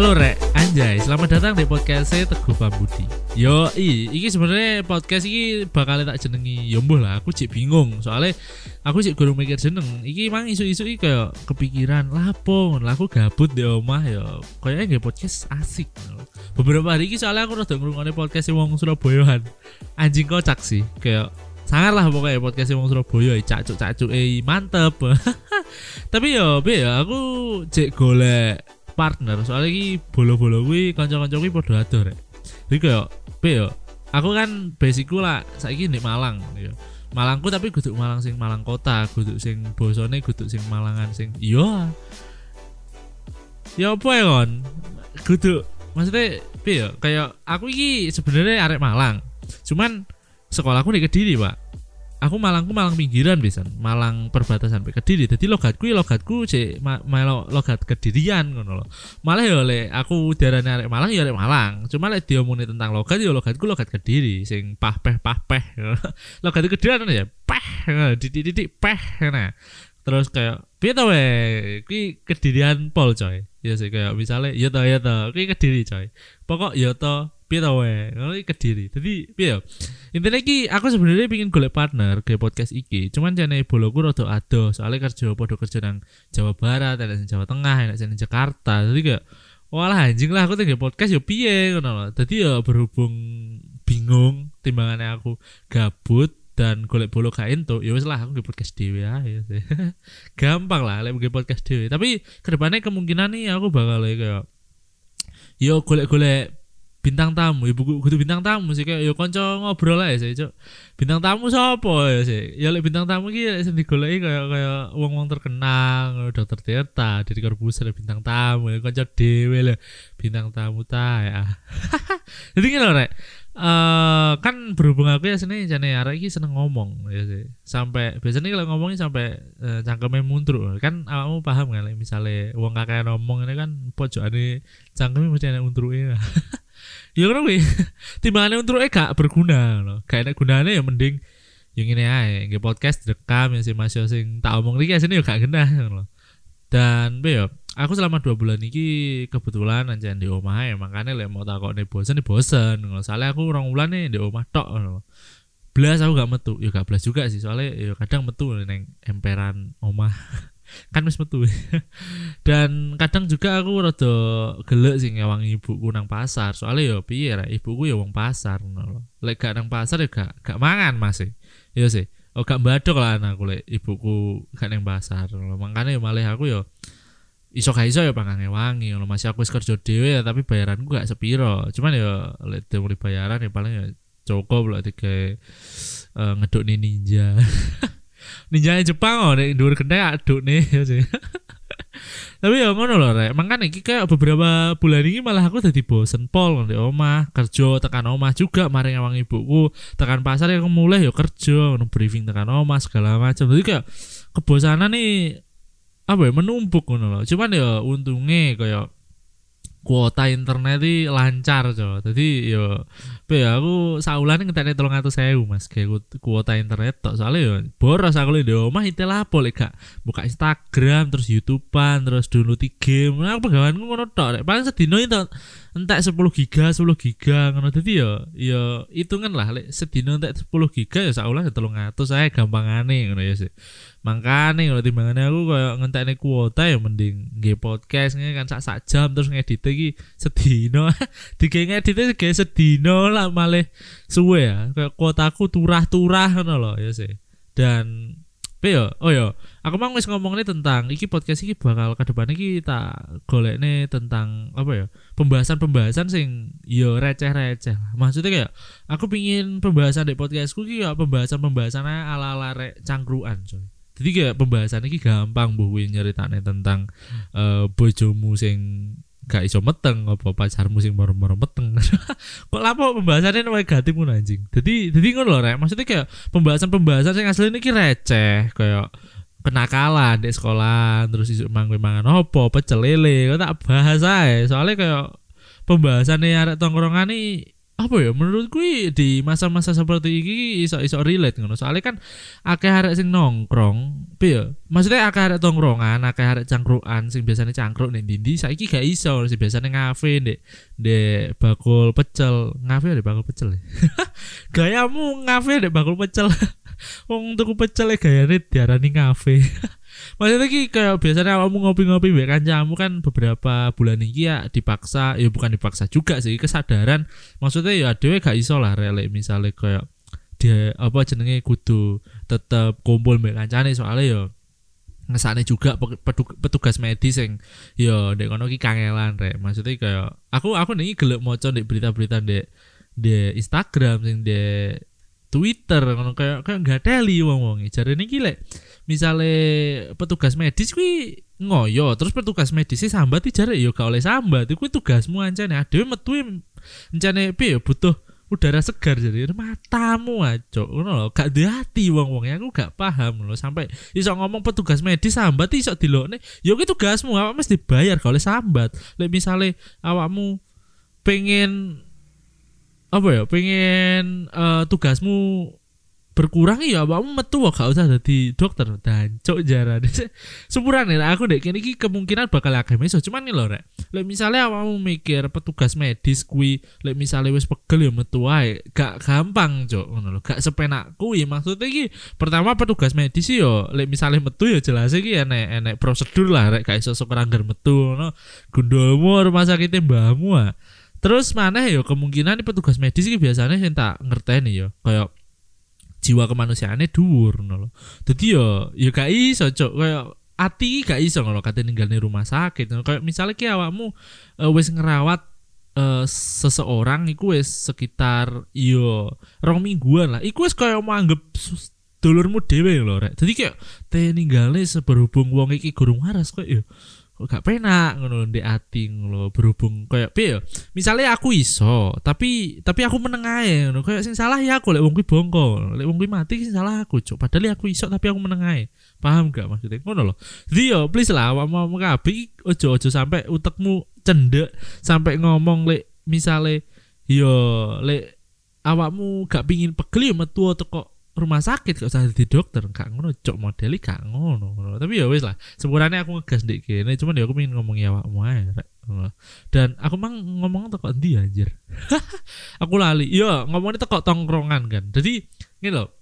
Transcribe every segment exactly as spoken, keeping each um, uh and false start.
Halo Rek, anjay, selamat datang di podcast saya Teguh Pambudi. Yo, i, iki sebenarnya podcast iki bakal tak jenengi. Yo mbuh lah, aku cik bingung soalnya aku cik gurung mikir jeneng. Iki mang isu-isu iki kayak kepikiran lapo, lah aku gabut di omah yo. Kayaknya nggak podcast asik. Beberapa hari iki soalnya aku rada ngrungokne podcast wong Surabayaan. Anjing kocak sih, kayak sangar lah pokoknya podcast wong Surabaya, cacuk-cacuk eh mantep. Tapi yo, be ya aku cek golek partner soalnya iki bolo-bolo kuwi kanca-kanca kuwi padha adoh rek. Jadi kayak be yo, aku kan basicku lah saiki ndek Malang yo. Malangku tapi kudu Malang sing Malang kota, kudu sing bosone kudu sing Malangan sing iya. Ya apa ya kon? Kudu maksudnya be yo, kayak aku iki sebenarnya arek Malang. Cuman sekolahku di Kediri, Pak. Aku Malangku Malang pinggiran pisan, Malang perbatasan sampai Kediri. Jadi logatku ya logatku cek ma- melo logat Kedirian ngono lho. Malah ya le aku diarani arek Malang ya arek Malang. Cuma lek diomongin tentang logat ya logatku logat Kediri sing pah-peh pah-peh. Logat Kedirian ya peh, didik-didik peh nah. Terus kayak piye to we? Kuwi Kedirian pol coy. Ya sih kayak misalnya ya to ya to, kuwi Kediri coy. Pokok ya to piye to we? Ngono iki Kediri. Dadi piye? Intinya iki aku sebenarnya pingin golek partner ke podcast iki. Cuman jane boloku rada adoh soalnya kerja padha kerja nang Jawa Barat, ada nang Jawa Tengah, ada nang Jakarta. Jadi kayak walah anjing lah aku tinggal podcast yo piye ngono lho. Dadi ya berhubung bingung timbangannya aku gabut dan golek bolo gak entuk, ya wis lah aku nge podcast dhewe ae. Gampang lah lek nge podcast dhewe. Tapi kedepannya kemungkinan nih aku bakal kayak yo golek-golek bintang tamu, ibu kudu bintang tamu sih kayak yo kanca ngobrol ae sih, Cuk. Bintang tamu sapa ya sih? Ya lek bintang tamu iki sing digoleki kayak kayak wong-wong terkenal, Dokter Tirta, Deddy Corbuzier bintang tamu, kanca dhewe lho bintang tamu ta ya. Jadi ngene rek. Uh, kan berhubung aku ya sini jane arek iki seneng ngomong ya sih. Sampai biasanya kalau ngomongin sampai uh, cangkeme muntruk. Kan awakmu paham kan like, misale wong kakek ngomong ini kan pojokane cangkeme mesti ana untruke. Ya ngono kuwi. Timbangane untruke gak berguna loh. Gak enak gunane ya mending yang ini ae, nge podcast direkam ya sih Mas yo sing tak omong iki asine yo gak genah loh. Dan be yo aku selama dua bulan ini kebetulan aja di omah ya, makanya lek mau takokne bosen nih bosen. Soalnya aku orang bulan nih di omah tok. Belas aku gak metu, ya gak belas juga sih soalnya ya kadang metu neng emperan omah. Kan wis metu. Dan kadang juga aku rada gelek sih ngewang ibuku nang pasar. Soalnya ya piye ra ibuku ya wong pasar ngono lho. Lek gak nang pasar ya gak gak mangan Mas. Ya sih. Oh gak badok lah anakku lek ibuku gak nang pasar. Makanya ya malah aku ya iso gak iso ya pangange wangi ngono masih aku wis kerja dhewe ya tapi bayaranku gak sepiro. Cuman ya lek mulai bayaran ya paling ya cukup lah tiga uh, ngeduk nih ninja. Ninja Jepang oh nek dhuwur genteng aduk nih ya sih. Tapi ya ngono lho rek. Makane iki kayak beberapa bulan ini malah aku dadi bosen pol di omah, kerja tekan omah juga maring awang ibuku, tekan pasar ya mulai ya kerja, ngono briefing tekan omah segala macam. Jadi kayak kebosanan nih apa ya menumpuk ngono lho. Cuman ya untunge kayak kuota internet iki lancar coy. Dadi ya pe ya aku saulane ngentekne telung atus ewu Mas kayak kuota internet tok. Soalnya ya boros aku di omah itel apa lek gak buka Instagram terus YouTubean terus download game. Nah, pegawanku ngono tok rek. Paling sedino itu entek sepuluh giga sepuluh giga ngono. Dadi ya ya hitungan lah lek sedino entek sepuluh giga ya saulane telung atus ae gampangane ngono ya sih. Makane kalau timbangannya aku kayak ngentekne kuota ya mending nge podcast nge kan sak-sak jam terus ngedit iki sedino. Dige ngedit iki sedino lah malah suwe ya. Kayak kuotaku turah-turah ngono lho ya sih. Dan pe yo oh yo aku mang wis ngomongnya tentang iki podcast iki bakal ke depan iki tak golekne tentang apa ya pembahasan-pembahasan sing yo receh-receh. Maksudnya kayak aku pingin pembahasan di podcastku iki ya pembahasan-pembahasan ala-ala rek cangkruan coy. Jadi kayak pembahasan ini gampang bu nyeritane tentang uh, bojomu sing gak iso meteng apa pacarmu sing moro-moro meteng. Kok lapo pembahasannya negatif ngono anjing. Jadi jadi ngono lho rek. Maksudnya kayak pembahasan-pembahasan sing asline iki receh kayak kenakalan di sekolah terus isuk mangwe mangan opo pecel lele kok tak bahas ae. Soalnya kayak pembahasannya arek tongkrongan iki apa ya menurutku di masa-masa seperti ini iso-iso relate ngono. Soalnya kan akeh arek sing nongkrong, piye? Maksudnya akeh arek tongkrongan, akeh arek cangkrukan sing biasanya cangkruk ning ndi saiki gak iso, sing biasanya ngafe ndek ndek bakul pecel. Ngafe ndek bakul pecel. Gayamu ngafe ndek bakul pecel. Wong tuku pecel e gayane diarani ngafe. Maksudnya ki kayak biasanya kamu ngopi-ngopi mbek kancamu kan beberapa bulan ini ya dipaksa, ya bukan dipaksa juga sih, kesadaran maksudnya ya dhewe gak iso lah relek misalnya kayak dia apa jenenge kudu tetep kumpul mbek kancane soalnya ya ngesane juga petugas medis yang ya ndek kono ki kangelan rek. Maksudnya kayak aku aku nih gelek maca ndek berita-berita ndek di Instagram sing di Twitter ngono kayak kayak enggak teli wong-wong. Jarene iki lek misale petugas medis kuwi ngoyo, terus petugas medis sambat jare ya gak oleh sambat. Iku tugasmu ancane dhewe metu encane piye butuh udara segar jadi matamu aco ngono lho, gak duwe ati wong-wong. Aku gak paham lho sampai iso ngomong petugas medis sambat iso dilokne. Ya kuwi tugasmu, awak mesti dibayar gak oleh sambat. Lek misale awakmu pengen apa ya pengen uh, tugasmu berkurang ya awakmu metu gak usah dadi dokter dan cok jarane sepurane aku ndek kene iki kemungkinan bakal akeh meso cuman nih lho rek lek misale awakmu mikir petugas medis kuwi lek misale wis pegel ya metu wae gak gampang cok ngono lho gak sepenak kuwi maksudnya iki pertama petugas medis yo lek misale metu ya jelas iki enek enek prosedur lah rek gak iso sok ranggar metu ngono gundulmu rumah sakit mbahmu ah. Terus mana ya kemungkinan nih petugas medis iki biasanya sing tak ngerteni ya kayak jiwa kemanusiaane dhuwur ngono lho. Dadi ya ya gak iso cok kayak ati gak iso ngono kate ninggalne rumah sakit. Kayak misalnya ki awakmu uh, wis ngerawat uh, seseorang iku wis sekitar yo rong mingguan lah. Iku wis kaya mau anggap dulurmu dhewe lho rek. Dadi kayak te ninggalne seberhubung wong iki gurung waras kok ya kok gak penak ngono ndek ati ngono berhubung kayak piye misalnya aku iso tapi tapi aku meneng ae ngono kayak sing salah ya aku lek wong kuwi bongko lek wong kuwi mati sing salah aku cuk padahal aku iso tapi aku meneng ae paham gak maksudnya ngono lho jadi yo please lah awakmu kabeh ojo-ojo sampai utekmu cendek sampai ngomong lek misale yo lek awakmu gak pingin pegel yo metu teko rumah sakit gak usah di dokter gak ngono cok modeli gak ngono, ngono. Tapi ya wis lah sepurane aku ngegas ndek kene cuman ya aku pengen ngomong ya awakmu ae dan aku mang ngomong teko endi anjir aku lali yo ngomongnya teko tongkrongan kan jadi ngene lho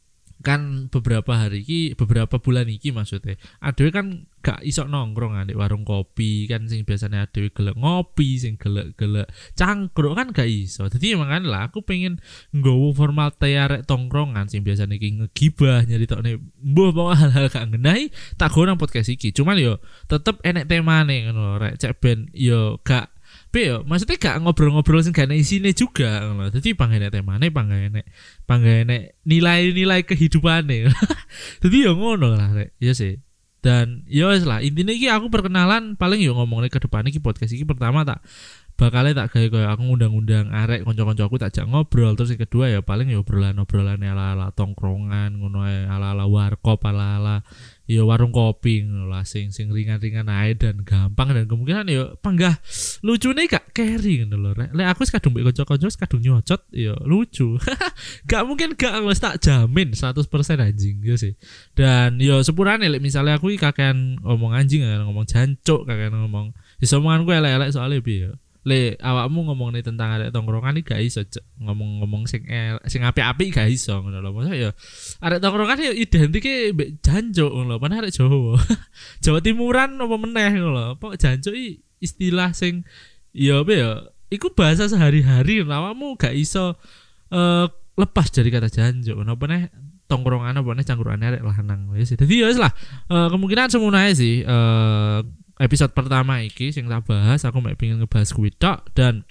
kan beberapa hari iki beberapa bulan iki maksudnya adewe kan gak iso nongkrong di warung kopi kan sing biasanya adewe gelek ngopi sing gelek-gelek cangkruk kan gak iso jadi makanya lah aku pengen nggowo formal arek tongkrongan sing biasanya iki ngegibah nyeritokne mbuh pokoke hal-hal gak ngenai tak go nang podcast iki cuman yo tetep enek temane ngono rek cek ben yo gak Pero maksudnya gak ngobrol-ngobrol sing gak ada isine juga ngono. Dadi panggene temane panggene panggene nilai-nilai kehidupane. Dadi ya ngono lah rek. Ya sih. Dan ya wis lah intine iki aku perkenalan paling yo ngomongnya ke depan iki podcast iki pertama tak bakalnya tak gawe koyo aku ngundang-undang arek kanca-kanca aku tak jak ngobrol terus yang kedua ya paling ya obrolan-obrolan ala-ala tongkrongan ngono ae ala-ala warkop ala-ala ya warung kopi ngono lah sing sing ringan-ringan ae dan gampang dan kemungkinan ya panggah lucune gak carry ngono lho rek. Lek aku wis kadung mbek kanca-kanca wis kadung nyocot ya lucu. Gak mungkin gak wis tak jamin seratus persen anjing ya sih. Dan ya sepurane lek misalnya aku iki kakean ngomong anjing ngomong jancuk kakean ngomong iso omonganku elek-elek soalnya piye le awakmu ngomong nih tentang arek tongkrongan iki gak iso ngomong-ngomong sing el, sing apik-apik gak iso ngono lho. Maksud ya arek tongkrongan ya identike mbek jancuk ngono lho. Pan arek Jawa. Jawa Timuran apa meneh ngono lho. Pok jancuk iki istilah sing ya apa ya iku bahasa sehari-hari awakmu gak iso uh, lepas dari kata jancuk ngono apa neh tongkrongan apa neh cangkrukane arek lanang wis. Dadi ya wis lah uh, kemungkinan semono ae sih uh, episode pertama iki sing tak bahas aku mek pengen ngebahas kuwi tok dan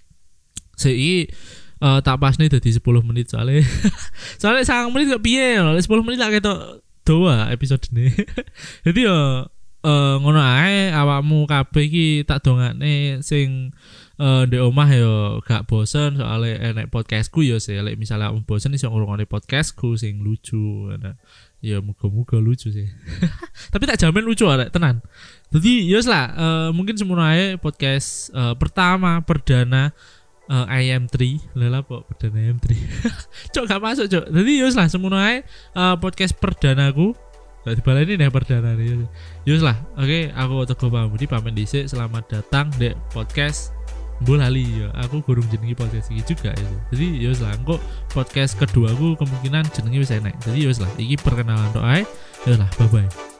sei uh, tak pasne dadi sepuluh menit soalnya soalnya sangat menit kok piye lho sepuluh menit tak ketok doa episode ini. Jadi yo uh, ngono ae awakmu kabeh iki tak dongakne sing uh, ndek omah yo gak bosen soalnya enek podcastku yo sih lek misalnya awakmu bosen iso ngrungokne podcastku sing lucu nah. Ya muga-muga lucu sih. Tapi tak jamin lucu arek tenan. Jadi yos lah uh, mungkin semono ae podcast uh, pertama perdana uh, I M tiga lha apa perdana I M tiga cok gak masuk cok. Jadi yus lah semono ae uh, podcast perdanaku. Gak dibaleni nih perdana nih. Yus lah. Oke, okay, aku Teguh Pambudi pamit dhisik. Selamat datang di podcast Bolali ya. Aku gurung jenengi podcast iki juga ya. Jadi yus lah engko podcast kedua aku kemungkinan jenengi wis enak. Jadi yus lah iki perkenalan tok ae. Yus lah bye bye.